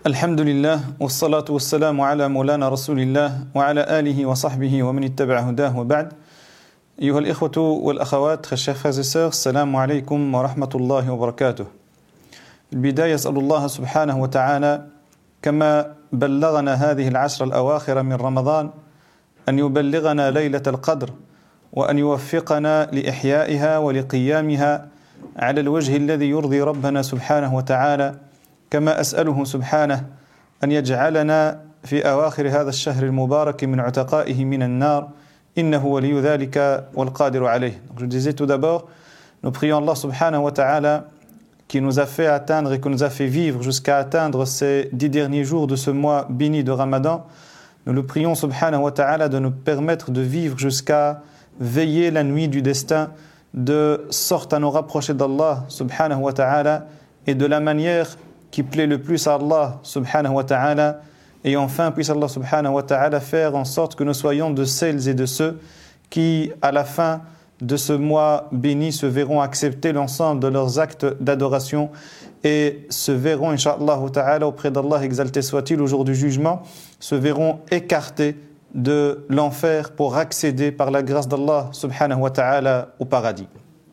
الحمد لله والصلاة والسلام على مولانا رسول الله وعلى آله وصحبه ومن اتبع هداه وبعد. أيها الإخوة والأخوات, très chers frères et sœurs, السلام عليكم ورحمة الله وبركاته. البداية أسأل الله سبحانه وتعالى كما بلغنا هذه العشر الأواخر من رمضان أن يبلغنا ليلة القدر وأن يوفقنا لإحيائها ولقيامها على الوجه الذي يرضي ربنا سبحانه وتعالى. كما أسأله سبحانه أن يجعلنا في أواخر هذا الشهر المبارك من عتقائه من النار إنه ولي ذلك والقادر عليه. Donc je disais tout d'abord, nous prions Allah subhanahu wa ta'ala qui nous a fait atteindre et qui nous a fait vivre jusqu'à atteindre ces 10 derniers jours de ce mois béni de Ramadan. Nous le prions subhanahu wa ta'ala de nous permettre de vivre jusqu'à veiller la nuit du destin de sorte à nous rapprocher d'Allah subhanahu wa ta'ala et de la manière qui plaît le plus à Allah subhanahu wa ta'ala. Et enfin, puisse Allah subhanahu wa ta'ala faire en sorte que nous soyons de celles et de ceux qui, à la fin de ce mois béni, se verront accepter l'ensemble de leurs actes d'adoration et se verront, incha'Allah ta'ala, auprès d'Allah, exalté soit-il, au jour du jugement, se verront écartés de l'enfer pour accéder par la grâce d'Allah subhanahu wa ta'ala au paradis.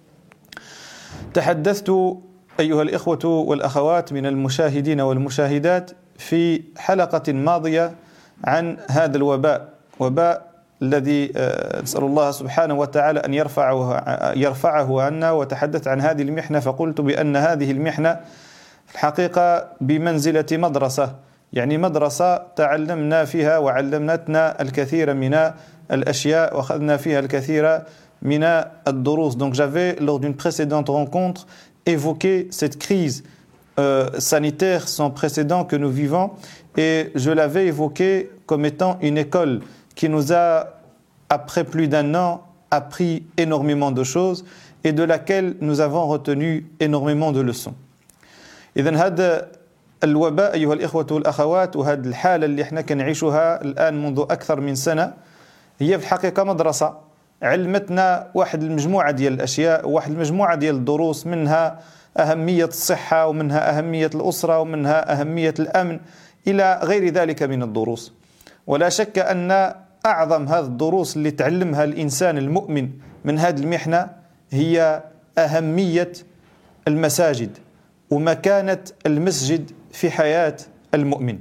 تحدثت أيها الإخوة والأخوات من المشاهدين والمشاهدات في حلقة ماضية عن هذا الوباء، وباء الذي نسأل الله سبحانه وتعالى أن يرفعه عنا، وتحدثت عن هذه المحنة فقلت بأن هذه المحنة الحقيقة بمنزلة مدرسة، يعني مدرسة تعلمنا فيها وعلمتنا الكثير من الأشياء وأخذنا فيها الكثير من الدروس. Donc j'avais lors d'une précédente rencontre évoqué cette crise sanitaire sans précédent que nous vivons et je l'avais évoqué comme étant une école qui nous a, après plus d'un an, appris énormément de choses et de laquelle nous avons retenu énormément de leçons. إذن هذا الوباء أيها الإخوة والأخوات وهذه الحالة اللي احنا كنعيشها الآن منذ أكثر من سنة هي في الحقيقة مدرسة علمتنا واحد المجموعة ديال الأشياء وواحد المجموعة ديال الدروس، منها أهمية الصحة ومنها أهمية الأسرة ومنها أهمية الأمن إلى غير ذلك من الدروس. ولا شك أن أعظم هذه الدروس اللي تعلمها الإنسان المؤمن من هذه المحنة هي أهمية المساجد ومكانة المسجد في حياة المؤمن.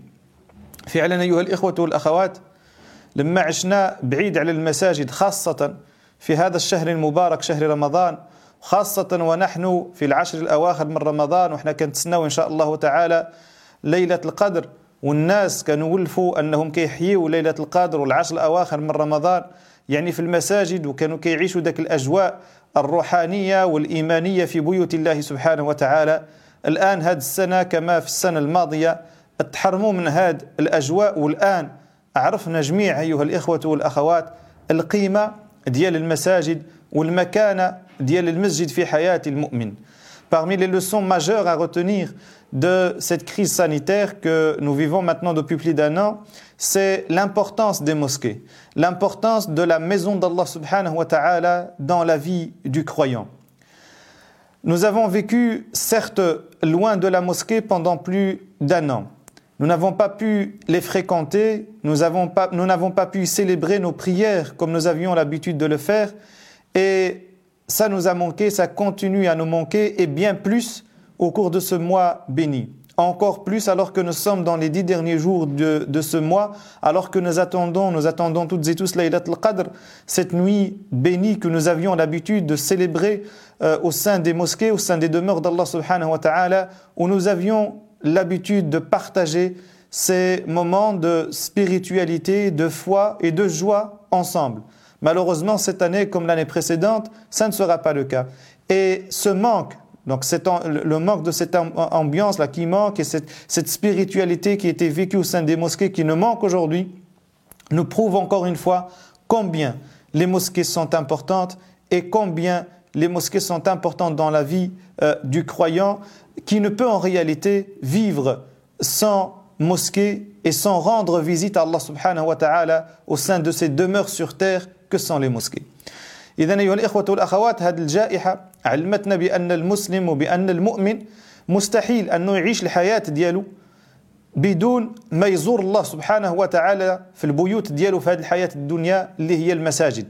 فعلا أيها الإخوة والأخوات، لما عشنا بعيد على المساجد خاصة في هذا الشهر المبارك شهر رمضان، خاصة ونحن في العشر الأواخر من رمضان وإحنا كنتسناو إن شاء الله تعالى ليلة القدر، والناس كانوا ولفوا أنهم كيحيوا ليلة القدر والعشر الأواخر من رمضان يعني في المساجد، وكانوا كيعيشوا ذاك الأجواء الروحانية والإيمانية في بيوت الله سبحانه وتعالى. الآن هذه السنة كما في السنة الماضية تحرموا من هذه الأجواء، والآن عرفنا جميع أيها الإخوة والأخوات القيمة ديال المساجد والمكانة ديال المسجد في حياة المؤمن. Parmi les leçons majeures à retenir de cette crise sanitaire que nous vivons maintenant depuis plus d'un an, c'est l'importance des mosquées, l'importance de la maison d'Allah subhanahu wa ta'ala dans la vie du croyant. Nous avons vécu, certes, loin de la mosquée pendant plus d'un an. Nous n'avons pas pu les fréquenter, nous n'avons pas pu célébrer nos prières comme nous avions l'habitude de le faire, et ça nous a manqué, ça continue à nous manquer, et bien plus au cours de ce mois béni. Encore plus alors que nous sommes dans les 10 derniers jours de ce mois, alors que nous attendons toutes et tous Laylat al-Qadr, cette nuit bénie que nous avions l'habitude de célébrer au sein des mosquées, au sein des demeures d'Allah subhanahu wa ta'ala, où nous avions l'habitude de partager ces moments de spiritualité, de foi et de joie ensemble. Malheureusement, cette année, comme l'année précédente, ça ne sera pas le cas. Et ce manque, donc le manque de cette ambiance-là qui manque et cette spiritualité qui était vécue au sein des mosquées qui nous manque aujourd'hui, nous prouve encore une fois combien les mosquées sont importantes et combien les mosquées sont importantes dans la vie du croyant qui ne peut en réalité vivre sans mosquée et sans rendre visite à Allah subhanahu wa ta'ala au sein de ces demeures sur terre que sont les mosquées. إذن أيها الإخوة والأخوات، هذه الجائحة علمتنا بأن المسلم وبأن المؤمن مستحيل أنه يعيش الحياة ديالو بدون ما يزور الله سبحانه وتعالى في البيوت ديالو في هذه الحياة الدنيا اللي هي المساجد.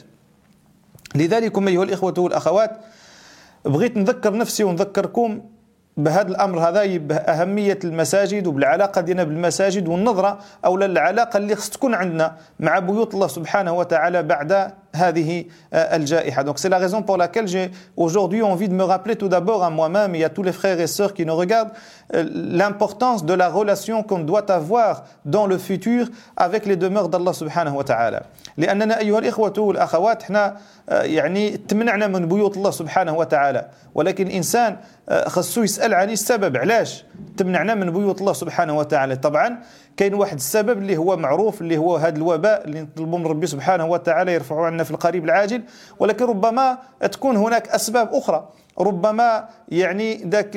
لذلك أيها الإخوة والأخوات بغيت نذكر نفسي ونذكركم بهذا الأمر هذا، بأهمية المساجد وبالعلاقة ديالنا بالمساجد والنظرة أو العلاقة اللي خص تكون عندنا مع بيوت الله سبحانه وتعالى بعد هذه الجائحة. Donc c'est la raison pour laquelle j'ai aujourd'hui envie de me rappeler tout d'abord à moi-même et à tous les frères et sœurs qui nous regardent l'importance de la relation qu'on doit avoir dans le futur avec les demeures d'Allah سبحانه وتعالى. لأننا أيها الإخوة والأخوات احنا يعني تمنعنا من بيوت الله سبحانه وتعالى، ولكن إنسان خصو يسأل عن السبب علاش تمنعنا من بيوت الله سبحانه وتعالى. طبعا كاين واحد السبب اللي هو معروف اللي هو هذا الوباء اللي نطلبوا من ربي سبحانه وتعالى يرفعه عنا في القريب العاجل، ولكن ربما تكون هناك أسباب أخرى. ربما يعني ذاك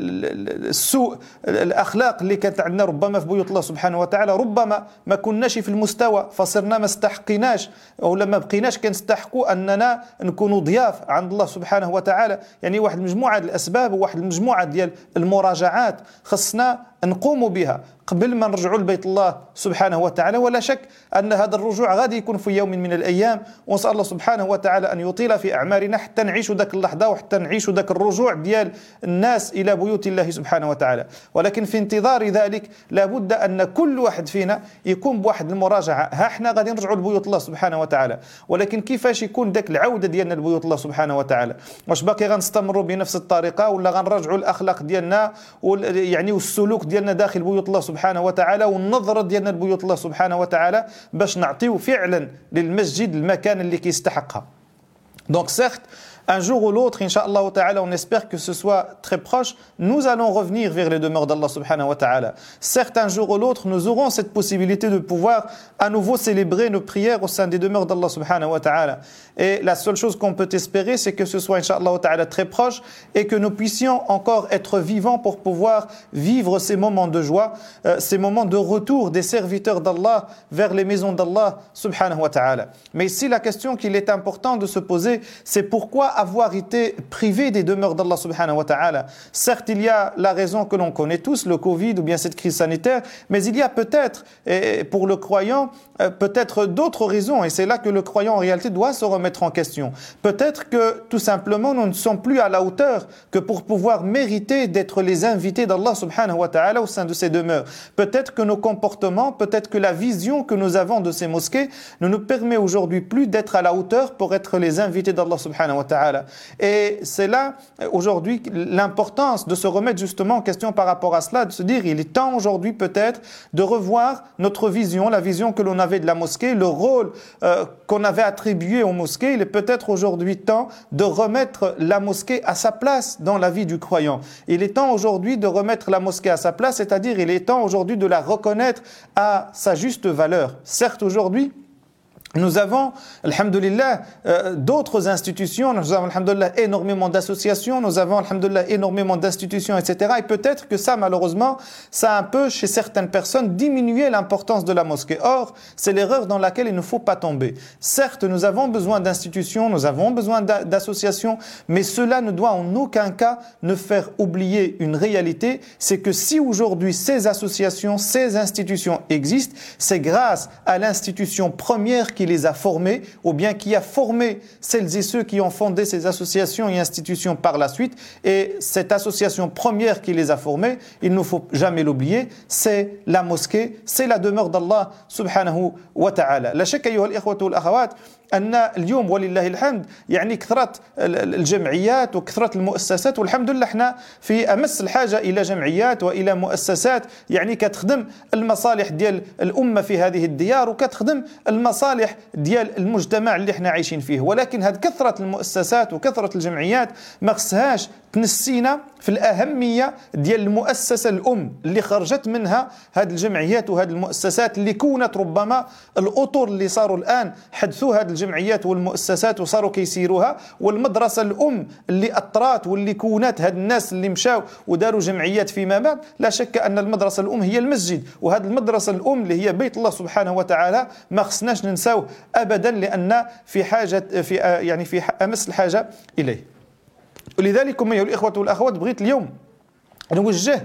السوء الأخلاق اللي كانت عندنا ربما في بيوت الله سبحانه وتعالى، ربما ما كناش في المستوى فصرنا ما استحقيناش أو لما بقيناش كنستحقوا أننا نكونوا ضياف عند الله سبحانه وتعالى. يعني واحد المجموعة الأسباب وواحد المجموعة ديال المراجعات خصنا نقوم بها قبل ما نرجعوا لبيت الله سبحانه وتعالى. ولا شك أن هذا الرجوع غادي يكون في يوم من الأيام، ونسأل الله سبحانه وتعالى أن يطيل في أعمارنا حتى نعيشوا ذاك اللحظة وحتى نعيشوا ذاك الرجوع ديال الناس إلى بيوت الله سبحانه وتعالى. ولكن في انتظار ذلك لابد أن كل واحد فينا يكون بواحد المراجعة. ها احنا غادي نرجعوا لبيوت الله سبحانه وتعالى، ولكن كيفاش يكون ذاك العودة ديالنا لبيوت الله سبحانه وتعالى؟ واش باقي غنستمروا بنفس الطريقة ولا غنرجعوا الأخلاق ديالنا يعني والسلوك ديالنا داخل بيوت الله سبحانه وتعالى والنظرة ديالنا لبيوت الله سبحانه وتعالى باش نعطيو فعلا للمسجد المكان اللي كيستحقها. Donc certes, un jour ou l'autre, Inch'Allah ta'ala, on espère que ce soit très proche, nous allons revenir vers les demeures d'Allah subhanahu wa ta'ala. Certes, un jour ou l'autre, nous aurons cette possibilité de pouvoir à nouveau célébrer nos prières au sein des demeures d'Allah subhanahu wa ta'ala. Et la seule chose qu'on peut espérer, c'est que ce soit, Inch'Allah ta'ala, très proche et que nous puissions encore être vivants pour pouvoir vivre ces moments de joie, ces moments de retour des serviteurs d'Allah vers les maisons d'Allah subhanahu wa ta'ala. Mais ici, la question qu'il est important de se poser, c'est pourquoi avoir été privé des demeures d'Allah subhanahu wa ta'ala. Certes, il y a la raison que l'on connaît tous, le Covid ou bien cette crise sanitaire, mais il y a peut-être, pour le croyant, peut-être d'autres raisons, et c'est là que le croyant en réalité doit se remettre en question. Peut-être que tout simplement nous ne sommes plus à la hauteur que pour pouvoir mériter d'être les invités d'Allah subhanahu wa ta'ala au sein de ces demeures. Peut-être que nos comportements, peut-être que la vision que nous avons de ces mosquées ne nous permet aujourd'hui plus d'être à la hauteur pour être les invités d'Allah subhanahu wa ta'ala. Et c'est là aujourd'hui l'importance de se remettre justement en question par rapport à cela, de se dire il est temps aujourd'hui peut-être de revoir notre vision, la vision que l'on avait de la mosquée, le rôle qu'on avait attribué aux mosquées. Il est peut-être aujourd'hui temps de remettre la mosquée à sa place dans la vie du croyant. Il est temps aujourd'hui de remettre la mosquée à sa place, c'est-à-dire il est temps aujourd'hui de la reconnaître à sa juste valeur. Certes aujourd'hui, nous avons, alhamdoulilah, d'autres institutions, nous avons, alhamdoulilah, énormément d'associations, nous avons, alhamdoulilah, énormément d'institutions, etc. Et peut-être que ça, malheureusement, ça a un peu, chez certaines personnes, diminué l'importance de la mosquée. Or, c'est l'erreur dans laquelle il ne faut pas tomber. Certes, nous avons besoin d'institutions, nous avons besoin d'associations, mais cela ne doit en aucun cas ne faire oublier une réalité, c'est que si aujourd'hui ces associations, ces institutions existent, c'est grâce à l'institution première qui les a formés, ou bien qui a formé celles et ceux qui ont fondé ces associations et institutions par la suite. Et cette association première qui les a formés, il ne faut jamais l'oublier, c'est la mosquée, c'est la demeure d'Allah subhanahu wa ta'ala. La shakka ayyuha al-ikhwatu wal-akhawat أن اليوم ولله الحمد يعني كثرت الجمعيات وكثرت المؤسسات، والحمد لله احنا في أمس الحاجة إلى جمعيات وإلى مؤسسات يعني كتخدم المصالح ديال الأمة في هذه الديار وكتخدم المصالح ديال المجتمع اللي احنا عايشين فيه. ولكن هذه كثرة المؤسسات وكثرة الجمعيات ما خصهاش تنسينا في الأهمية ديال المؤسسة الأم اللي خرجت منها هذه الجمعيات وهذه المؤسسات اللي كونت ربما الأطر اللي صاروا الآن حدثوا هذه الجمعيات والمؤسسات وصاروا كيسيروها، والمدرسة الأم اللي أطرات واللي كونت هاد الناس اللي مشاو وداروا جمعيات فيما بعد. لا شك أن المدرسة الأم هي المسجد، وهذه المدرسة الأم اللي هي بيت الله سبحانه وتعالى ما خصناش ننساو أبدا، لأن في حاجة في أمس الحاجة إليه. ولذلك أيها الإخوة والأخوات بغيت اليوم نوجه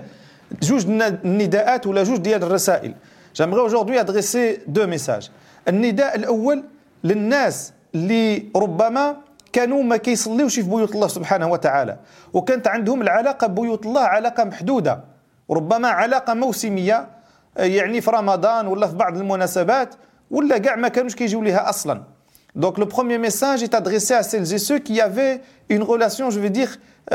جوج نداءات ولا جوج ديال الرسائل. J'aimerais aujourd'hui adresser deux messages. النداء الأول للناس اللي ربما كانوا ما كيصليوش في بيوت الله سبحانه وتعالى وكانت عندهم العلاقة ببيوت الله علاقة محدودة ربما علاقة موسمية يعني في رمضان ولا في بعض المناسبات ولا كاع ما كانوش كيجيو ليها أصلا. Donc le premier message est adressé à celles et ceux qui avaient une relation, je veux dire,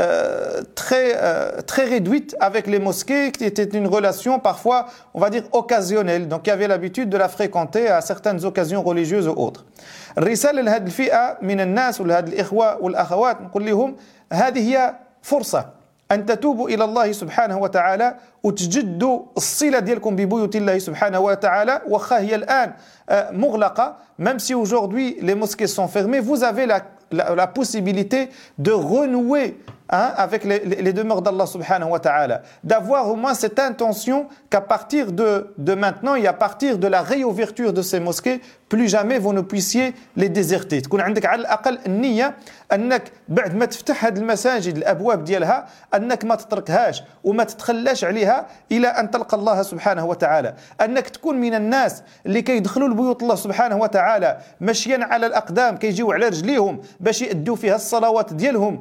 très réduite avec les mosquées, qui était une relation parfois, on va dire, occasionnelle, donc qui avait l'habitude de la fréquenter à certaines occasions religieuses ou autres. الرسالة لهذه الفئة من الناس ولهذه الإخوة والأخوات نقول لهم هذه هي فرصة أن تتوبوا إلى الله سبحانه وتعالى وتجدوا الصلة ديالكم ببيوت الله سبحانه وتعالى وخا هي الآن مغلقة. Même si aujourd'hui les mosquées sont fermées, vous avez la possibilité de renouer avec les demeures d'Allah subhanahu wa ta'ala, d'avoir au moins cette intention qu'à partir de maintenant et à partir de la réouverture de ces mosquées, plus jamais vous ne puissiez les déserter. تكون عندك على الأقل النية أنك بعد ما تفتح هذه المساجد الأبواب ديالها أنك ما تتركهاش وما تتخلاش عليها إلى أن تلقى الله سبحانه وتعالى. أنك تكون من الناس اللي كيدخلوا لبيوت الله سبحانه وتعالى مشيا على الأقدام كيجيو على رجليهم باش يأدوا فيها الصلوات ديالهم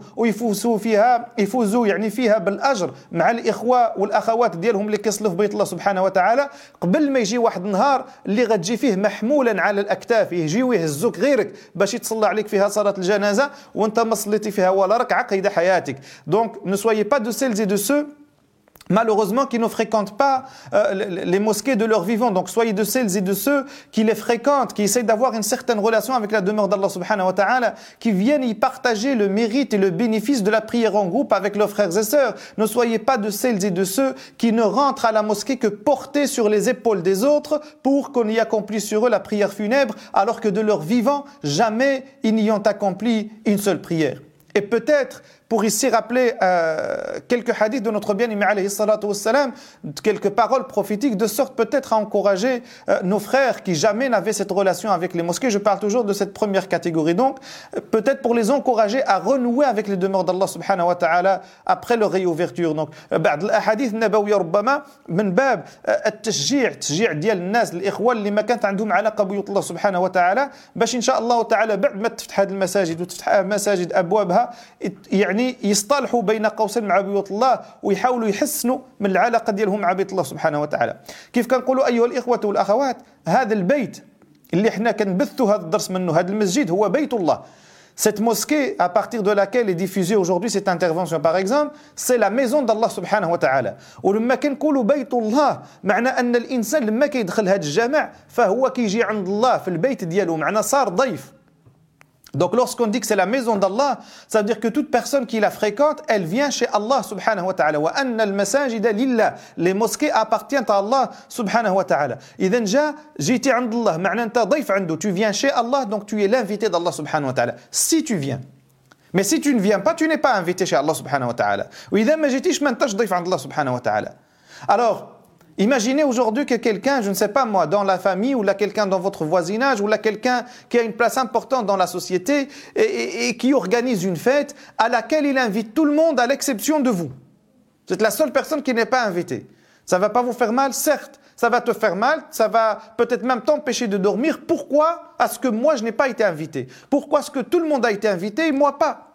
ويفوزوا يعني فيها بالأجر مع الإخوة والأخوات ديالهم اللي كيصلوا في بيت الله سبحانه وتعالى قبل ما يجي واحد النهار اللي غتجي فيه محمولا على الأكتاف يجيو يهزوك غيرك باش يتصلى عليك فيها صلاة الجنازة وانت ما صليتي فيها ولا ركعة قيد حياتك. Donc ne soyez pas de celles et de ceux malheureusement qui ne fréquentent pas les mosquées de leur vivant. Donc soyez de celles et de ceux qui les fréquentent, qui essayent d'avoir une certaine relation avec la demeure d'Allah subhanahu wa ta'ala, qui viennent y partager le mérite et le bénéfice de la prière en groupe avec leurs frères et sœurs. Ne soyez pas de celles et de ceux qui ne rentrent à la mosquée que portés sur les épaules des autres pour qu'on y accomplisse sur eux la prière funèbre, alors que de leur vivant, jamais ils n'y ont accompli une seule prière. Et peut-être, pour ici rappeler quelques hadiths de notre bien-aimé alayhi salatu wassalam, quelques paroles prophétiques, de sorte peut-être à encourager nos frères qui jamais n'avaient cette relation avec les mosquées. Je parle toujours de cette première catégorie. Donc, peut-être pour les encourager à renouer avec les demeures d'Allah subhanahu wa ta'ala après leur réouverture. Donc, بعض الأحاديث النبوية ربما من باب التشجيع ديال الناس الإخوة اللي ما كانت عندهم علاقة ببيوت الله سبحانه وتعالى باش إن شاء الله تعالى بعد ما تفتح هذه المساجد وتفتح مساجد أبوابها يعني يصطلحوا بين قوسين مع بيوت الله ويحاولوا يحسنوا من العلاقة ديالهم مع بيت الله سبحانه وتعالى. كيف كنقولوا أيها الإخوة والأخوات هذا البيت اللي احنا كنبثوا هذا الدرس منه هذا المسجد هو بيت الله. Cette mosquée à partir de laquelle est diffusée aujourd'hui cette intervention par exemple c'est la maison d'Allah سبحانه وتعالى. ولما كنقولوا بيت الله معنى أن الإنسان لما كيدخل هذا الجامع فهو كيجي عند الله في البيت ديالو معنى صار ضيف. Donc lorsqu'on dit que c'est la maison d'Allah, ça veut dire que toute personne qui la fréquente, elle vient chez Allah subhanahu wa ta'ala. Wa anna al-masajida lillah. Les mosquées appartiennent à Allah subhanahu wa ta'ala. إذن جيتي عند الله معنى أنت ضيف عنده. Tu viens chez Allah, donc tu es l'invité d'Allah subhanahu wa ta'ala. Si tu viens. Mais si tu ne viens pas, tu n'es pas invité chez Allah subhanahu wa ta'ala. وإذا ما جيتيش ما أنتش ضيف عند الله subhanahu wa ta'ala. Alors, imaginez aujourd'hui que quelqu'un, je ne sais pas moi, dans la famille ou là quelqu'un dans votre voisinage ou là quelqu'un qui a une place importante dans la société et qui organise une fête à laquelle il invite tout le monde à l'exception de vous. Vous êtes la seule personne qui n'est pas invitée. Ça ne va pas vous faire mal, certes. Ça va te faire mal, ça va peut-être même t'empêcher de dormir. Pourquoi est-ce que moi je n'ai pas été invité? Pourquoi est-ce que tout le monde a été invité et moi pas?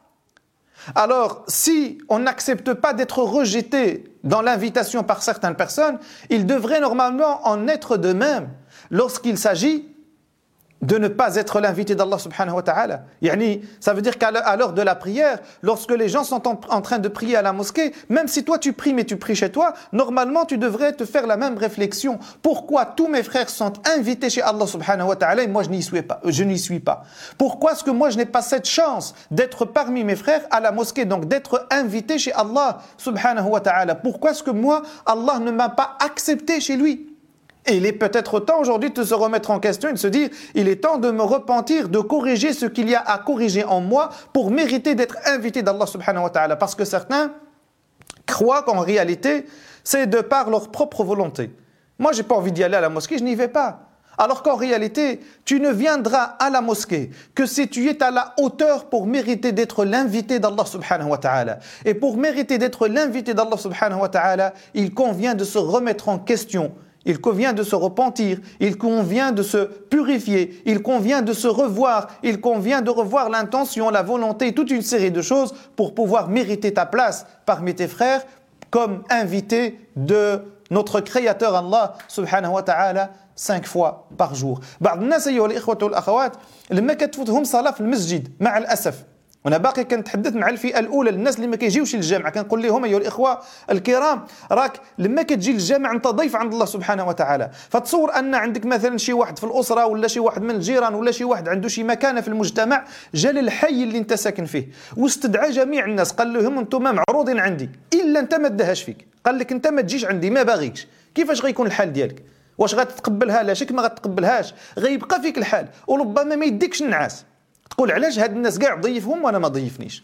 Alors, si on n'accepte pas d'être rejeté dans l'invitation par certaines personnes, il devrait normalement en être de même lorsqu'il s'agit de ne pas être l'invité d'Allah subhanahu wa ta'ala. Yani, ça veut dire qu'à l'heure de la prière, lorsque les gens sont en train de prier à la mosquée, même si toi tu pries mais tu pries chez toi, normalement tu devrais te faire la même réflexion. Pourquoi tous mes frères sont invités chez Allah subhanahu wa ta'ala et moi je n'y suis pas? Pourquoi est-ce que moi je n'ai pas cette chance d'être parmi mes frères à la mosquée, donc d'être invité chez Allah subhanahu wa ta'ala? Pourquoi est-ce que moi, Allah ne m'a pas accepté chez lui? Et il est peut-être temps aujourd'hui de se remettre en question et de se dire il est temps de me repentir, de corriger ce qu'il y a à corriger en moi pour mériter d'être invité d'Allah subhanahu wa ta'ala. Parce que certains croient qu'en réalité, c'est de par leur propre volonté. Moi, j'ai pas envie d'y aller à la mosquée, je n'y vais pas. Alors qu'en réalité, tu ne viendras à la mosquée que si tu es à la hauteur pour mériter d'être l'invité d'Allah subhanahu wa ta'ala. Et pour mériter d'être l'invité d'Allah subhanahu wa ta'ala, il convient de se remettre en question. Il convient de se repentir, il convient de se purifier, il convient de se revoir, il convient de revoir l'intention, la volonté, toute une série de choses pour pouvoir mériter ta place parmi tes frères comme invité de notre Créateur Allah subhanahu wa ta'ala 5 fois par jour. بعض الناس أيها الإخوة والأخوات لما كتفوتهم صلاة في المسجد مع الأسف وانا باقي كنتحدث مع الفئه الاولى الناس اللي ما كيجيوش للجامع كنقول لهم ايها الاخوه الكرام راك لما كتجي للجامع انت ضيف عند الله سبحانه وتعالى فتصور ان عندك مثلا شي واحد في الاسره ولا شي واحد من الجيران ولا شي واحد عنده شي مكانه في المجتمع جا للحي اللي انت ساكن فيه واستدعى جميع الناس قال لهم انتم معروضين عندي الا انت ما دهاش فيك قال لك انت ما تجيش عندي ما باغيكش كيفاش غيكون الحال ديالك واش غتتقبلها لا شك ما غتقبلهاش غيبقى فيك الحال وربما ما يديكش النعاس تقول علاش هاد الناس كاع ضيفهم وانا ما ضيفنيش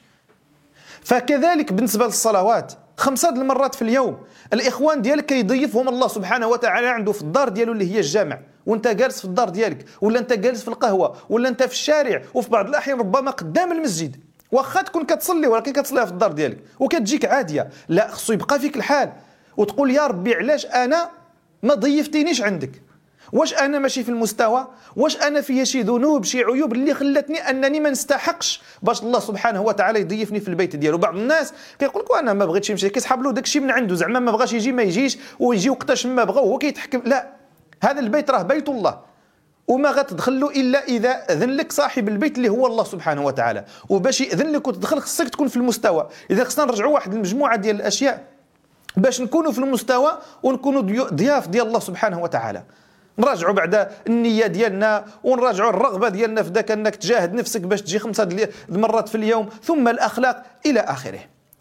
فكذلك بالنسبه للصلوات 5 المرات في اليوم الاخوان ديالك كيضيفهم الله سبحانه وتعالى عنده في الدار ديالو اللي هي الجامع وانت جالس في الدار ديالك ولا انت جالس في القهوه ولا انت في الشارع وفي بعض الاحيان ربما قدام المسجد واخا تكون كتصلي ولكن كتصليها في الدار ديالك وكتجيك عاديه لا خصو يبقى فيك الحال وتقول يا ربي علاش انا ما ضيفتينيش عندك واش انا ماشي في المستوى واش انا فيا شي ذنوب شي عيوب اللي خلتني انني ما نستحقش باش الله سبحانه وتعالى يضيفني في البيت ديالو بعض الناس كيقول لك انا ما بغيتش نمشي كيسحب له داكشي من عنده زعما ما بغاش يجي ما يجيش ويجي وقتاش ما بغى وهو كيتحكم لا هذا البيت راه بيت الله وما غتدخل له الا اذا اذن لك صاحب البيت اللي هو الله سبحانه وتعالى وباش ياذن لك وتدخل خصك تكون في المستوى اذا خصنا نرجعوا واحد المجموعه ديال الاشياء باش نكونوا في المستوى ونكونوا ضياف ديال الله سبحانه وتعالى نراجعوا بعد النية ديالنا ونراجعوا الرغبة ديالنا في ذاك أنك تجاهد نفسك باش تجي 5 مرات في اليوم ثم الأخلاق إلى آخره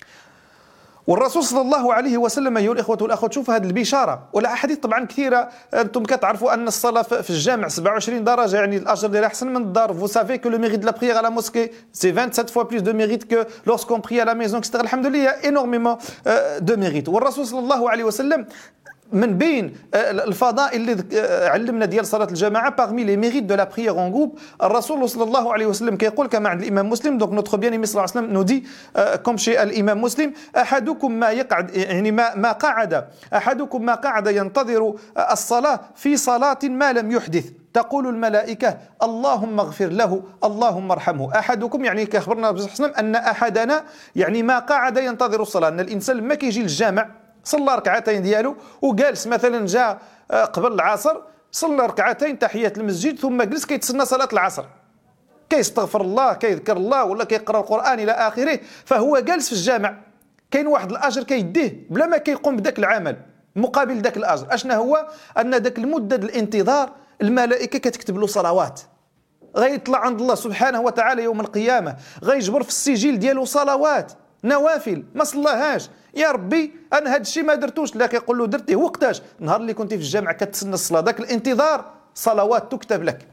والرسول صلى الله عليه وسلم أيها الإخوة والأخوات شوف هذه البشارة والأحاديث طبعا كثيرة أنتم كتعرفوا أن الصلاة في الجامع 27 درجة يعني الأجر ديالها أحسن من الدار vous savez que le mérite de la prière à la mosquée c'est 27 fois plus de mérite que lorsqu'on prie à la maison etc. الحمد لله il y a énormément de mérite والرسول صلى الله عليه وسلم من بين الفضائل اللي علمنا ديال صلاة الجماعة parmi les mérites de la prière en groupe الرسول صلى الله عليه وسلم كيقول كما عند الإمام مسلم donc notre bien-aimé صلى الله عليه وسلم nous dit comme chez الإمام مسلم أحدكم ما يقعد يعني ما قعد ينتظر الصلاة في صلاة ما لم يحدث تقول الملائكة اللهم اغفر له اللهم ارحمه أحدكم يعني كأخبرنا بصحة أن أحدنا يعني ما قعد ينتظر الصلاة أن الإنسان لما كيجي للجامع صلى ركعتين ديالو وجالس مثلا جاء قبل العصر صلى ركعتين تحية المسجد ثم جلس كيتسنى صلاة العصر كيستغفر الله كيذكر الله ولا كيقرأ القرآن إلى آخره فهو جالس في الجامع كاين واحد الأجر كيديه بلا ما كيقوم بداك العمل مقابل داك الأجر أشنا هو أن داك المدة الانتظار الملائكة كتكتب له صلوات غيطلع عند الله سبحانه وتعالى يوم القيامة غيجبر في السجل ديالو صلوات نوافل ما صلاهاش يا ربي انا هذا الشيء ما درتوش لا كيقول له درتيه وقتاش نهار اللي كنتي في الجامع كتسنى الصلاه داك الانتظار صلوات تكتب لك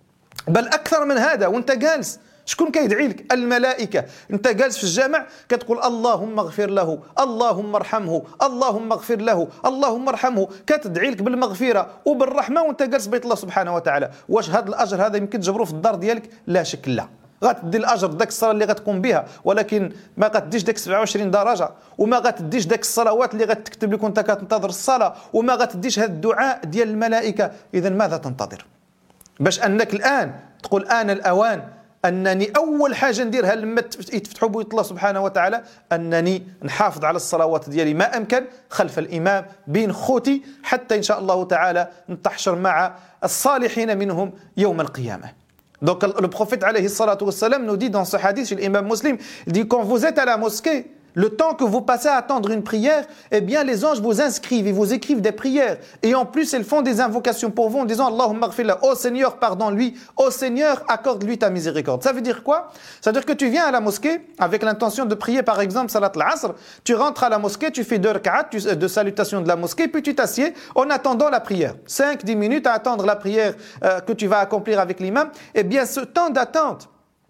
بل اكثر من هذا وانت جالس شكون كيدعي لك الملائكه انت جالس في الجامع كتقول اللهم اغفر له اللهم ارحمه اللهم اغفر له اللهم ارحمه كتدعي لك بالمغفره وبالرحمه وانت جالس بيت الله سبحانه وتعالى واش هذا الاجر هذا يمكن تجبره في الدار ديالك لا شك لا غتدي الاجر داك الصلاه اللي غتقوم بها ولكن ما غتديش داك 27 درجه وما غتديش داك الصلوات اللي غتكتب لك وانت كتنتظر الصلاه وما غتديش هذا الدعاء ديال الملائكه اذا ماذا تنتظر باش انك الان تقول انا الاوان انني اول حاجه نديرها لما يتفتحوا بيوت الله سبحانه وتعالى انني نحافظ على الصلوات ديالي ما امكن خلف الامام بين خوتي حتى ان شاء الله تعالى نتحشر مع الصالحين منهم يوم القيامه. Donc le prophète alayhi salatu wassalam nous dit dans ce hadith chez l'imam muslim, il dit quand vous êtes à la mosquée, le temps que vous passez à attendre une prière, eh bien les anges vous inscrivent et vous écrivent des prières. Et en plus, ils font des invocations pour vous en disant Allahumma ghfirlah, ô Seigneur, pardonne-lui, ô Seigneur, accorde-lui ta miséricorde. Ça veut dire quoi? Ça veut dire que tu viens à la mosquée avec l'intention de prier par exemple Salat al-Asr, tu rentres à la mosquée, tu fais 2 rak'at de salutation de la mosquée, puis tu t'assieds en attendant la prière. 5-10 minutes à attendre la prière que tu vas accomplir avec l'imam. Eh bien ce temps d'attente,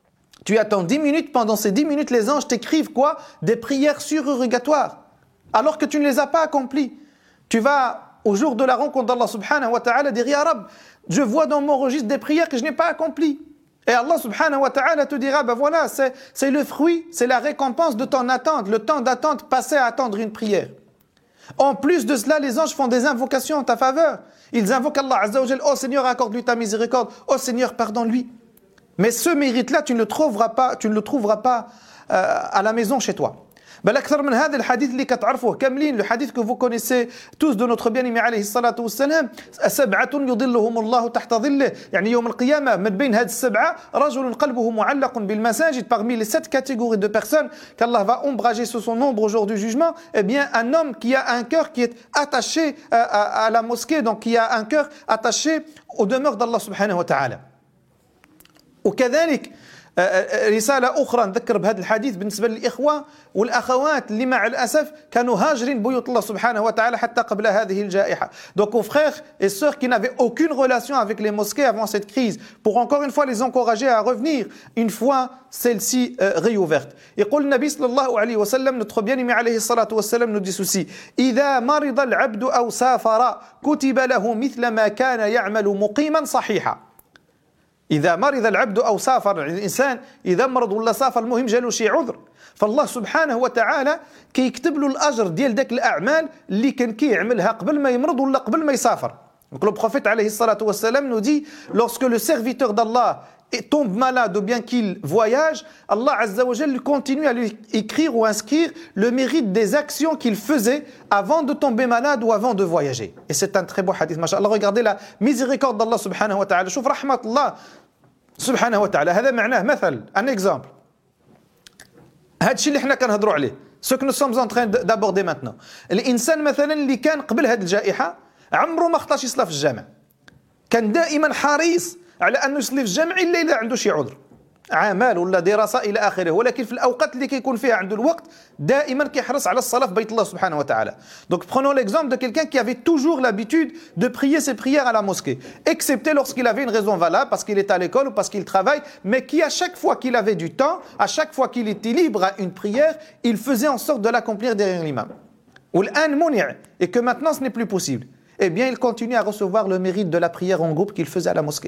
tu attends 10 minutes, pendant ces 10 minutes, les anges t'écrivent quoi? Des prières surérogatoires, alors que tu ne les as pas accomplies. Tu vas au jour de la rencontre d'Allah subhanahu wa ta'ala, dire Ya Rab, je vois dans mon registre des prières que je n'ai pas accomplies. Et Allah subhanahu wa ta'ala te dira, ben voilà, c'est le fruit, c'est la récompense de ton attente, le temps d'attente passé à attendre une prière. En plus de cela, les anges font des invocations en ta faveur. Ils invoquent Allah Azza wa Jal, oh Seigneur, accorde-lui ta miséricorde, oh Seigneur, pardonne-lui. Mais ce mérite-là, tu ne le trouveras pas à la maison chez toi. بل أكثر من هذا الحديث اللي كتعرفوه كاملين le hadith que vous connaissez tous de notre bien-aimé عليه الصلاة والسلام سبعة يظلهم الله تحت ظله يعني يوم القيامة من بين هذه السبعة رجل قلبه معلق بالمساجد parmi les 7 catégories de personnes qu'Allah va ombrager sur son ombre au jour du jugement eh bien un homme qui a un cœur qui est attaché à la mosquée donc qui a un cœur attaché aux demeures d'Allah subhanahu wa ta'ala وكذلك رسالة أخرى نذكر بهذا الحديث بالنسبة للإخوة والأخوات اللي مع الأسف كانوا هاجرين بيوت الله سبحانه وتعالى حتى قبل هذه الجائحة. Donc aux frères et sœurs qui n'avaient aucune relation avec les mosquées avant cette crise, pour encore une fois les encourager à revenir une fois celle-ci réouverte. يقول النبي صلى الله عليه وسلم notre bien-aimé عليه الصلاة والسلام nous dit ceci إذا مرض العبد أو سافر كتب له مثل ما كان يعمل مقيما صحيحا. إذا مرض العبد أو سافر الإنسان إذا مرض ولا سافر المهم جالو شي عذر فالله سبحانه وتعالى كيكتب له الأجر ديال داك الأعمال اللي كان كيعملها قبل ما يمرض ولا قبل ما يسافر. Donc le prophète عليه الصلاة والسلام nous dit lorsque le serviteur d'Allah tombe malade ou bien qu'il voyage, Allah Azza wa Jal continue à lui écrire ou inscrire le mérite des actions qu'il faisait avant de tomber malade ou avant de voyager. Et c'est un très beau hadith. Masha'Allah, regardez la miséricorde d'Allah subhanahu wa ta'ala. شوف رحمة الله سبحانه وتعالى. هذا معناه مثل un exemple. هذا الشيء اللي احنا كنهضروا عليه. Ce que nous sommes en train d'aborder maintenant. الإنسان مثلا اللي كان قبل هذه الجائحة عمره ما خطاش يصلى في الجامع. كان دائما حريص على أنه يصلي في الجامع إلا إذا عنده شي عذر عمل ولا دراسة إلى آخره ولكن في الأوقات اللي كيكون فيها عنده الوقت دائما كيحرص على الصلاة في بيت الله سبحانه وتعالى. Donc prenons l'exemple de quelqu'un qui avait toujours l'habitude de prier ses prières à la mosquée, excepté lorsqu'il avait une raison valable parce qu'il est à l'école ou parce qu'il travaille, mais qui à chaque fois qu'il avait du temps, à chaque fois qu'il était libre à une prière, il faisait en sorte de l'accomplir derrière l'imam. والآن منع et que maintenant ce n'est plus possible. Eh bien il continue à recevoir le mérite de la prière en groupe qu'il faisait à la mosquée.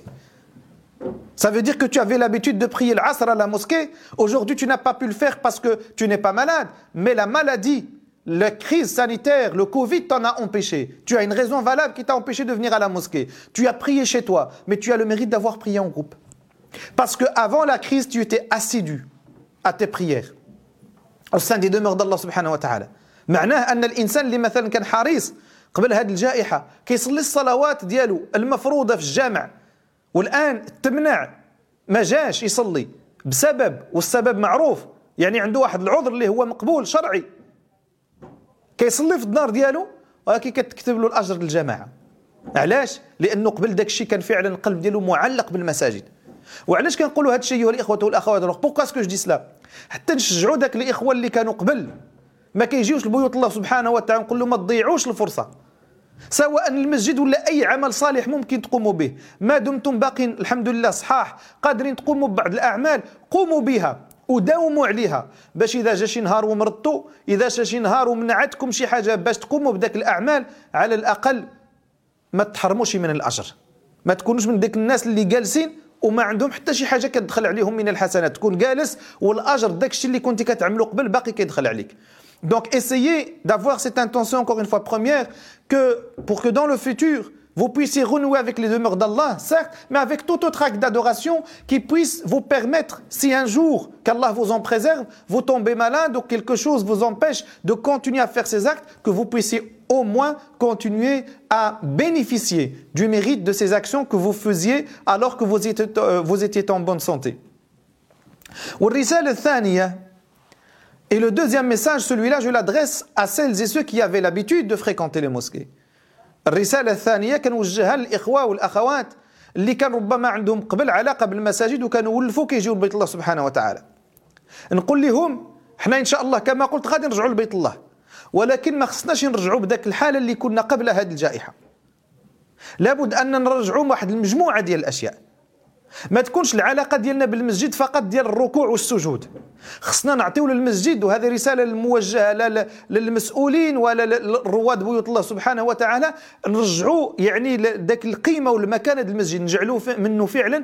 Ça veut dire que tu avais l'habitude de prier l'Asr à la mosquée. Aujourd'hui, tu n'as pas pu le faire parce que tu n'es pas malade. Mais la maladie, la crise sanitaire, le Covid t'en a empêché. Tu as une raison valable qui t'a empêché de venir à la mosquée. Tu as prié chez toi, mais tu as le mérite d'avoir prié en groupe. Parce qu'avant la crise, tu étais assidu à tes prières au sein des demeures d'Allah subhanahu wa ta'ala. معناه أن الإنسان اللي مثلا كان حريص قبل هذه الجائحة كيصلي الصلوات ديالو المفروضة في الجامع والآن تمنع ما جاش يصلي بسبب والسبب معروف يعني عنده واحد العذر اللي هو مقبول شرعي كيصلي في الدار ديالو ولكن كتكتب له الأجر للجماعة. علاش؟ لأنه قبل داك الشيء كان فعلا القلب ديالو معلق بالمساجد. وعلاش كنقولوا هذا الشيء أيها الإخوة والأخوات؟ بوكا اسكو جو دي سلا حتى نشجعوا داك الإخوة اللي كانوا قبل ما كيجيوش لبيوت الله سبحانه وتعالى نقول لهم ما تضيعوش الفرصة سواء المسجد ولا أي عمل صالح ممكن تقوموا به ما دمتم باقين الحمد لله صحاح قادرين تقوموا ببعض الأعمال قوموا بها وداوموا عليها باش إذا جا شي نهار ومرضتوا إذا جا شي نهار ومنعتكم شي حاجة باش تقوموا بداك الأعمال على الأقل ما تحرموش من الأجر ما تكونوش من ديك الناس اللي جالسين وما عندهم حتى شي حاجة كتدخل عليهم من الحسنات تكون جالس والأجر داك الشيء اللي كنتي كتعملوا قبل باقي كيدخل عليك. Donc essayez d'avoir cette intention encore une fois première pour que dans le futur vous puissiez renouer avec les demeures d'Allah, certes, mais avec tout autre acte d'adoration qui puisse vous permettre, si un jour qu'Allah vous en préserve, vous tombez malade ou quelque chose vous empêche de continuer à faire ces actes, que vous puissiez au moins continuer à bénéficier du mérite de ces actions que vous faisiez alors que vous étiez en bonne santé. والرسالة الثانية Et le deuxième message, celui-là, je l'adresse à celles et ceux qui avaient l'habitude de fréquenter les mosquées. الرسالة الثانية كنوجهها للإخوة والأخوات اللي كان ربما عندهم قبل علاقة بالمساجد وكانوا ولفوا كيجيو لبيت الله سبحانه وتعالى. نقول لهم احنا إن شاء الله كما قلت غادي نرجعوا لبيت الله ولكن ما خصناش نرجعوا بداك الحالة اللي كنا قبل هذه الجائحة. لابد أن نرجعوا واحد المجموعة ديال الأشياء. ما تكونش العلاقه ديالنا بالمسجد فقط ديال الركوع والسجود. خصنا نعطيو للمسجد، وهذه رساله موجهه للمسؤولين ولا للرواد بيوت الله سبحانه وتعالى، نرجعوا يعني ذاك القيمه والمكانه ديال المسجد، نجعلوه منه فعلا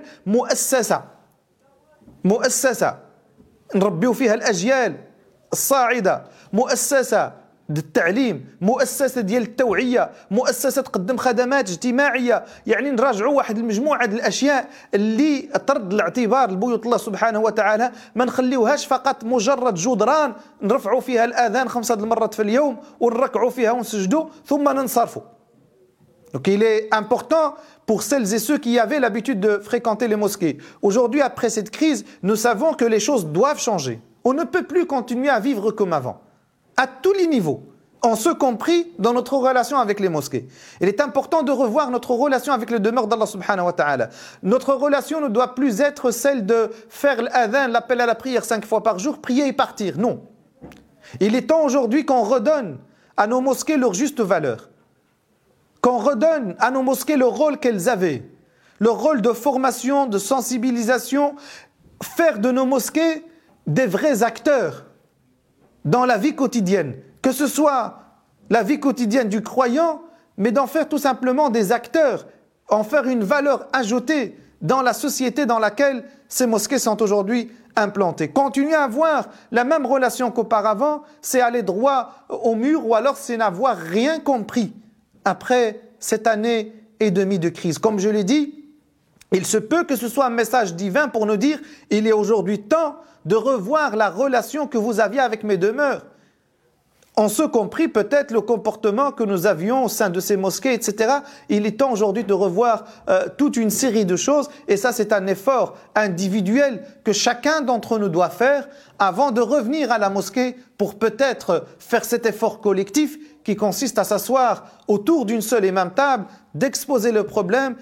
مؤسسه نربيو فيها الاجيال الصاعده، مؤسسه التعليم، مؤسسه ديال التوعيه، مؤسسه تقدم خدمات اجتماعيه. يعني نراجعوا واحد المجموعه ديال الاشياء اللي ترد الاعتبار لبيوت الله سبحانه وتعالى، ما نخليوهاش فقط مجرد جدران نرفعوا فيها الاذان 5 مرات في اليوم ونركعوا فيها ونسجدوا ثم ننصرفوا. Donc il est important pour celles et ceux qui avaient l'habitude de fréquenter les mosquées. Aujourd'hui, après cette crise, nous savons que les choses doivent changer. On ne peut plus continuer à vivre comme avant, à tous les niveaux, en ce compris dans notre relation avec les mosquées. Il est important de revoir notre relation avec le demeure d'Allah subhanahu wa ta'ala. Notre relation ne doit plus être celle de faire l'adhan, l'appel à la prière 5 fois par jour, prier et partir. Non. Il est temps aujourd'hui qu'on redonne à nos mosquées leur juste valeur, qu'on redonne à nos mosquées le rôle qu'elles avaient, le rôle de formation, de sensibilisation, faire de nos mosquées des vrais acteurs dans la vie quotidienne, que ce soit la vie quotidienne du croyant, mais d'en faire tout simplement des acteurs, en faire une valeur ajoutée dans la société dans laquelle ces mosquées sont aujourd'hui implantées. Continuer à avoir la même relation qu'auparavant, c'est aller droit au mur, ou alors c'est n'avoir rien compris après cette année et demie de crise. Comme je l'ai dit, il se peut que ce soit un message divin pour nous dire « Il est aujourd'hui temps de revoir la relation que vous aviez avec mes demeures. » En ce compris peut-être le comportement que nous avions au sein de ces mosquées, etc. Il est temps aujourd'hui de revoir toute une série de choses, et ça c'est un effort individuel que chacun d'entre nous doit faire avant de revenir à la mosquée pour peut-être faire cet effort collectif qui consiste à s'asseoir autour d'une seule et même table, d'exposer les problèmes,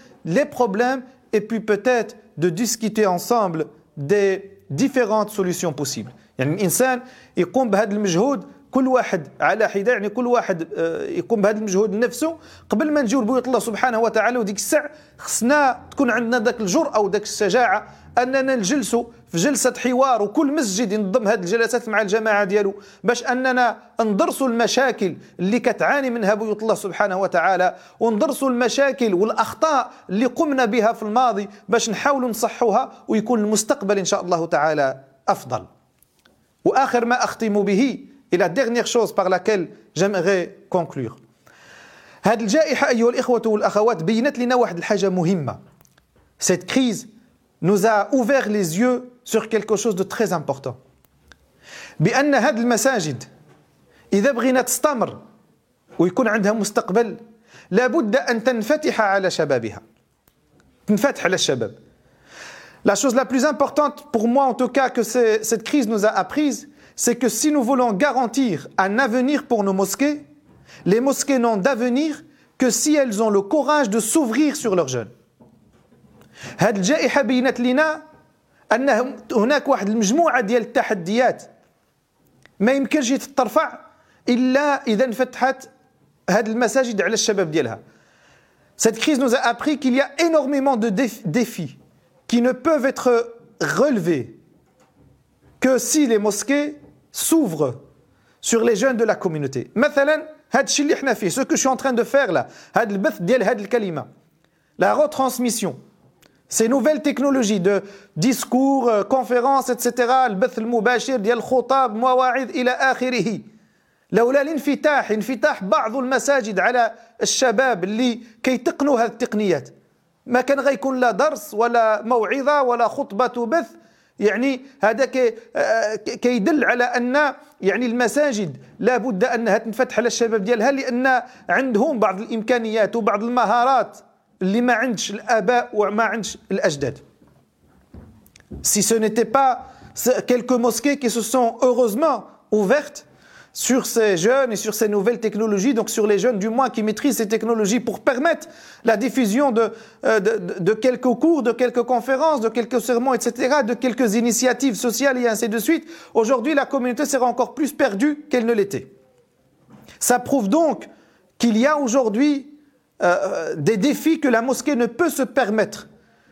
et puis peut-être de discuter ensemble des différentes solutions possibles. يعني الإنسان يقوم بهذا المجهود كل واحد على حدة، يعني كل واحد يقوم بهذا المجهود لنفسه قبل ما نجيو لبيوت الله سبحانه وتعالى. وديك الساعة خصنا تكون عندنا ذاك الجرأة وداك الشجاعة أننا نجلسوا في جلسة حوار، وكل مسجد ينظم هذه الجلسات مع الجماعة ديالو باش أننا ندرسوا المشاكل اللي كتعاني منها بيوت الله سبحانه وتعالى، وندرسوا المشاكل والأخطاء اللي قمنا بها في الماضي باش نحاولوا نصحوها ويكون المستقبل إن شاء الله تعالى أفضل. وآخر ما أختم به et la dernière chose par laquelle j'aimerais conclure. هذه الجائحة أيها الإخوة والأخوات بينت لنا واحد الحاجة مهمة. Cette crise nous a ouvert les yeux sur quelque chose de très important. بأن هذه المساجد إذا بغينا تستمر ويكون عندها مستقبل لابد أن تنفتح على شبابها. تنفتح على الشباب. La chose la plus importante pour moi en tout cas que cette crise nous a apprise, c'est que si nous voulons garantir un avenir pour nos mosquées, les mosquées n'ont d'avenir que si elles ont le courage de s'ouvrir sur leurs jeunes. هذه الجائحة بينت لنا أن هناك واحد المجموعة ديال التحديات ما يمكنش تترفع إلا إذا انفتحت هذه المساجد على الشباب ديالها. Cette crise nous a appris qu'il y a énormément de défis qui ne peuvent être relevés que si les mosquées s'ouvrent sur les jeunes de la communauté. مثلا هذا الشيء اللي احنا فيه, ce que je suis en train de faire là, هذا البث ديال هذه الكلمة, la retransmission, ces nouvelles technologies de discours, conférences, etc. البث المباشر ديال الخطاب, مواعظ إلى آخره. لولا انفتاح بعض المساجد على الشباب اللي كيتقنوا هذه التقنيات ما كان غيكون لا درس ولا موعظة ولا خطبة بث. يعني هذا كيدل على أن يعني المساجد لا بد أنها تنفتح على الشباب ديالها, لأن عندهم بعض الإمكانيات وبعض المهارات اللي ما عندش الآباء وما عندش الأجداد. Si ce n'était pas quelques mosquées qui se sont heureusement ouvertes sur ces jeunes et sur ces nouvelles technologies, donc sur les jeunes du moins qui maîtrisent ces technologies pour permettre la diffusion de quelques cours, de quelques conférences, de quelques sermons, etc., de quelques initiatives sociales et ainsi de suite, aujourd'hui la communauté sera encore plus perdue qu'elle ne l'était. Ça prouve donc qu'il y a aujourd'hui des défis que la mosquée ne peut se permettre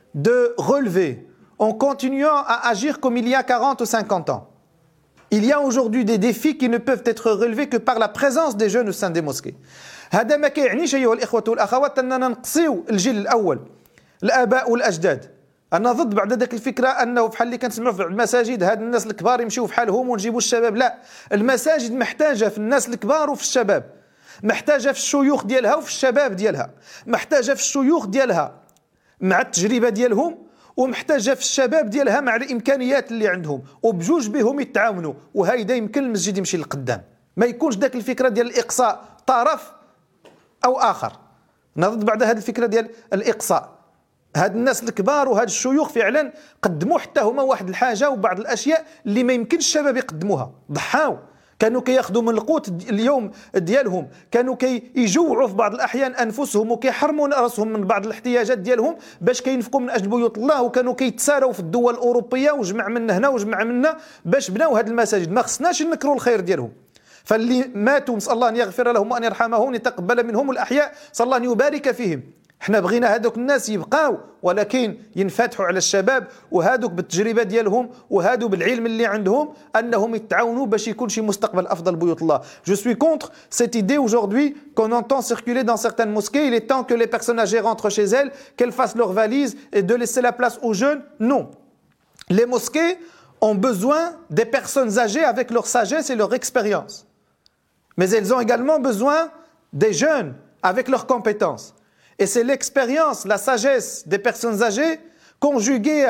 de relever en continuant à agir comme il y a 40 ou 50 ans. Il y a aujourd'hui des défis qui ne peuvent être relevés que par la présence des jeunes au sein des mosquées. هذا ما كيعنيش أيها الإخوة والأخوات أننا نقصيو الجيل الأول الآباء والأجداد. أنا ضد بعد ذاك الفكرة أنه بحال اللي كنسمعوا في المساجد هاد الناس الكبار يمشيو في حالهم ونجيبوا الشباب. لا، المساجد محتاجة في الناس الكبار وفي الشباب، محتاجة في الشيوخ ديالها وفي الشباب ديالها، محتاجة في الشيوخ ديالها مع التجربة ديالهم، ومحتاجة في الشباب ديالها مع الإمكانيات اللي عندهم، وبجوج بهم يتعاونوا، وهيدا يمكن المسجد يمشي للقدام. ما يكونش داك الفكرة ديال الإقصاء طرف أو آخر. نضد بعد هذه الفكرة ديال الإقصاء. هاد الناس الكبار وهاد الشيوخ فعلا قدموا حتى هما واحد الحاجة وبعض الأشياء اللي ما يمكنش الشباب يقدموها. ضحاو، كانوا كياخذوا من القوت اليوم ديالهم، كانوا كيجوعوا في بعض الأحيان أنفسهم وكيحرموا راسهم من بعض الاحتياجات ديالهم باش كينفقوا من أجل بيوت الله، وكانوا كيتساراو في الدول الأوروبية وجمع من هنا وجمع منا باش بناو هاد المساجد. ما خصناش نكروا الخير ديالهم. فاللي ماتوا نسأل الله أن يغفر لهم وأن يرحمهم وأن يتقبل منهم، الأحياء صلى الله أن يبارك فيهم. احنا بغينا هذوك الناس يبقاو، ولكن ينفتحوا على الشباب وهذوك بالتجربة ديالهم وهذو بالعلم اللي عندهم أنهم يتعاونوا باش يكون شي مستقبل أفضل بيوت الله. Je suis contre cette idée aujourd'hui qu'on entend circuler dans certaines mosquées. Il est temps que les personnes âgées rentrent chez elles, qu'elles fassent leurs valises et de laisser la place aux jeunes. Non. Les mosquées ont besoin des personnes âgées avec leur sagesse et leur expérience. Mais elles ont également besoin des jeunes avec leurs compétences. Et c'est l'expérience, la sagesse des personnes âgées conjuguée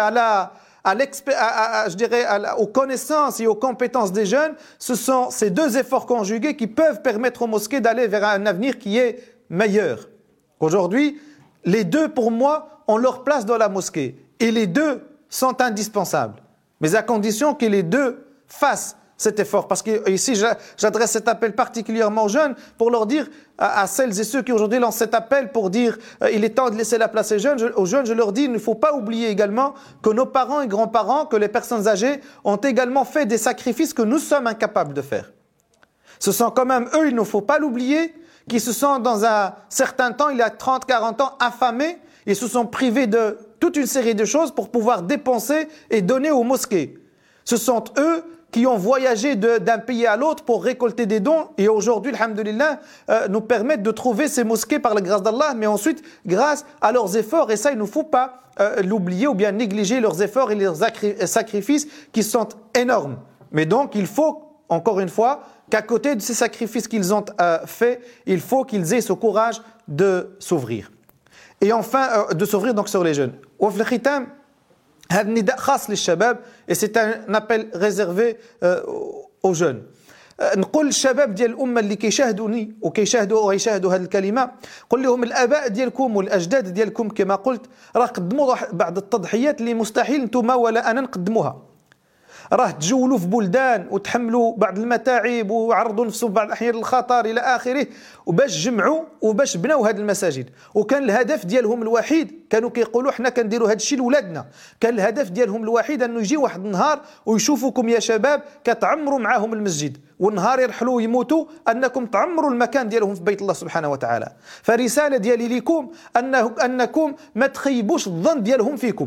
aux connaissances et aux compétences des jeunes. Ce sont ces deux efforts conjugués qui peuvent permettre aux mosquées d'aller vers un avenir qui est meilleur. Aujourd'hui, les deux, pour moi, ont leur place dans la mosquée. Et les deux sont indispensables. Mais à condition que les deux fassent cet effort. Parce que ici, j'adresse cet appel particulièrement aux jeunes pour leur dire, à celles et ceux qui aujourd'hui lancent cet appel pour dire il est temps de laisser la place aux jeunes, je leur dis, il ne faut pas oublier également que nos parents et grands-parents, que les personnes âgées ont également fait des sacrifices que nous sommes incapables de faire. Ce sont quand même eux, il ne faut pas l'oublier, qui se sont dans un certain temps, il y a 30, 40 ans, affamés, ils se sont privés de toute une série de choses pour pouvoir dépenser et donner aux mosquées. Ce sont eux qui ont voyagé d'un pays à l'autre pour récolter des dons et aujourd'hui, alhamdoulilah, nous permettent de trouver ces mosquées par la grâce d'Allah, mais ensuite, grâce à leurs efforts, et ça, il ne faut pas l'oublier ou bien négliger leurs efforts et leurs sacrifices qui sont énormes. Mais donc, il faut, encore une fois, qu'à côté de ces sacrifices qu'ils ont faits, il faut qu'ils aient ce courage de s'ouvrir. Et enfin, de s'ouvrir donc sur les jeunes. وفي الختام هذا النداء خاص للشباب et c'est un appel réservé aux jeunes. نقول للشباب ديال الأمة اللي كيشاهدوني ويشاهدوا هذه الكلمة، قل لهم الآباء ديالكم والأجداد ديالكم كما قلت راه قدموا بعض التضحيات اللي مستحيل نتوما ولا أنا نقدموها. راه تجولوا في بلدان وتحملوا بعض المتاعب وعرضوا نفسهم بعض الأحيان للخطر إلى آخره وباش جمعوا وباش بناو هذه المساجد. وكان الهدف ديالهم الوحيد، كانوا كيقولوا حنا كنديروا هذا الشيء لولادنا، كان الهدف ديالهم الوحيد أنه يجي واحد النهار ويشوفوكم يا شباب كتعمروا معاهم المسجد، والنهار يرحلوا ويموتوا أنكم تعمروا المكان ديالهم في بيت الله سبحانه وتعالى. فرسالة ديالي لكم أنكم ما تخيبوش الظن ديالهم فيكم،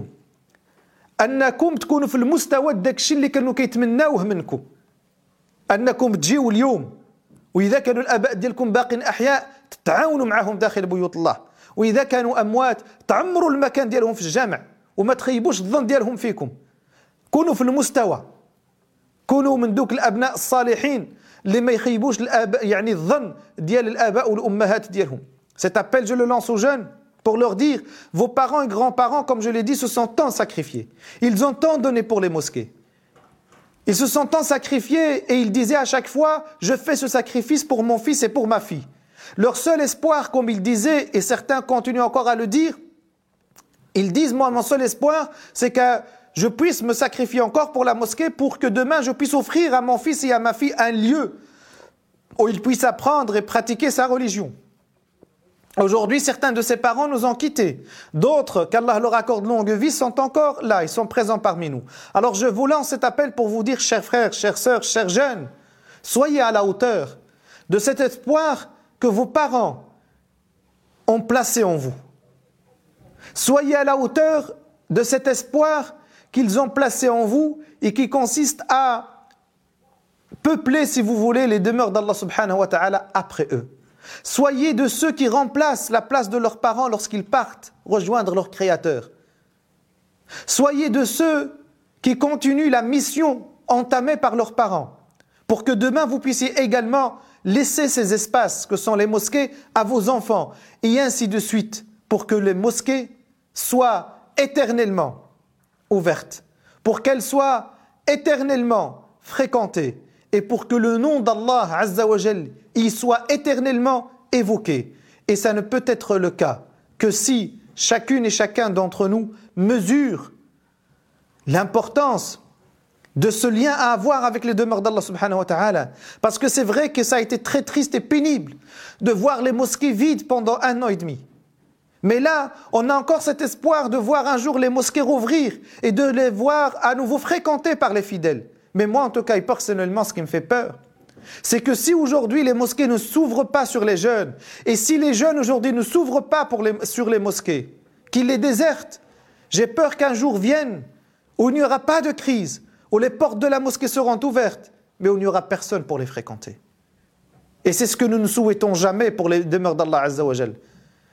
أنكم تكونوا في المستوى داك الشيء اللي كانوا كيتمناوه منكم، أنكم تجيوا اليوم وإذا كانوا الآباء ديالكم باقين أحياء تتعاونوا معهم داخل بيوت الله، وإذا كانوا أموات تعمروا المكان ديالهم في الجامع وما تخيبوش الظن ديالهم فيكم. كونوا في المستوى، كونوا من دوك الأبناء الصالحين اللي ما يخيبوش الآباء يعني الظن ديال الآباء والأمهات ديالهم. Cet appel je le lance aux jeunes pour leur dire, vos parents et grands-parents, comme je l'ai dit, se sont tant sacrifiés. Ils ont tant donné pour les mosquées. Ils se sont tant sacrifiés et ils disaient à chaque fois, je fais ce sacrifice pour mon fils et pour ma fille. Leur seul espoir, comme ils disaient, et certains continuent encore à le dire, ils disent, moi, mon seul espoir, c'est que je puisse me sacrifier encore pour la mosquée pour que demain je puisse offrir à mon fils et à ma fille un lieu où ils puissent apprendre et pratiquer sa religion. Aujourd'hui, certains de ces parents nous ont quittés. D'autres, qu'Allah leur accorde longue vie, sont encore là, ils sont présents parmi nous. Alors je vous lance cet appel pour vous dire, chers frères, chères sœurs, chers jeunes, soyez à la hauteur de cet espoir que vos parents ont placé en vous. Soyez à la hauteur de cet espoir qu'ils ont placé en vous et qui consiste à peupler, si vous voulez, les demeures d'Allah subhanahu wa ta'ala après eux. Soyez de ceux qui remplacent la place de leurs parents lorsqu'ils partent rejoindre leur Créateur. Soyez de ceux qui continuent la mission entamée par leurs parents, pour que demain vous puissiez également laisser ces espaces que sont les mosquées à vos enfants, et ainsi de suite, pour que les mosquées soient éternellement ouvertes, pour qu'elles soient éternellement fréquentées, et pour que le nom d'Allah Azza wa Jal y soit éternellement évoqué. Et ça ne peut être le cas que si chacune et chacun d'entre nous mesure l'importance de ce lien à avoir avec les demeures d'Allah subhanahu wa ta'ala. Parce que c'est vrai que ça a été très triste et pénible de voir les mosquées vides pendant 1 an et demi. Mais là, on a encore cet espoir de voir un jour les mosquées rouvrir et de les voir à nouveau fréquentées par les fidèles. Mais moi, en tout cas, et personnellement, ce qui me fait peur, c'est que si aujourd'hui les mosquées ne s'ouvrent pas sur les jeunes, et si les jeunes aujourd'hui ne s'ouvrent pas sur les mosquées, qu'ils les désertent, j'ai peur qu'un jour vienne où il n'y aura pas de crise, où les portes de la mosquée seront ouvertes, mais où il n'y aura personne pour les fréquenter. Et c'est ce que nous ne souhaitons jamais pour les demeures d'Allah Azza wa Jal.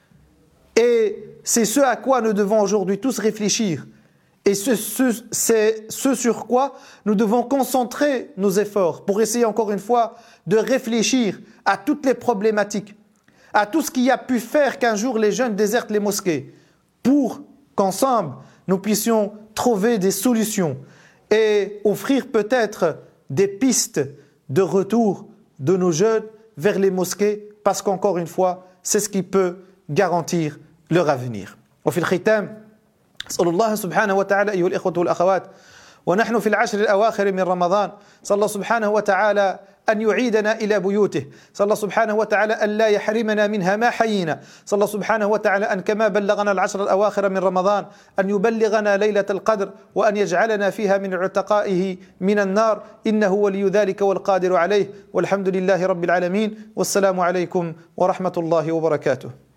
Et c'est ce à quoi nous devons aujourd'hui tous réfléchir. Et c'est ce sur quoi nous devons concentrer nos efforts pour essayer encore une fois de réfléchir à toutes les problématiques, à tout ce qui a pu faire qu'un jour les jeunes désertent les mosquées, pour qu'ensemble nous puissions trouver des solutions et offrir peut-être des pistes de retour de nos jeunes vers les mosquées, parce qu'encore une fois, c'est ce qui peut garantir leur avenir. وفي الختام أسأل الله سبحانه وتعالى أيها الإخوة والأخوات ونحن في العشر الأواخر من رمضان صلى الله سبحانه وتعالى أن يعيدنا إلى بيوته صلى الله سبحانه وتعالى أن لا يحرمنا منها ما حيينا صلى الله سبحانه وتعالى أن كما بلغنا العشر الأواخر من رمضان أن يبلغنا ليلة القدر وأن يجعلنا فيها من عتقائه من النار إنه ولي ذلك والقادر عليه والحمد لله رب العالمين والسلام عليكم ورحمة الله وبركاته.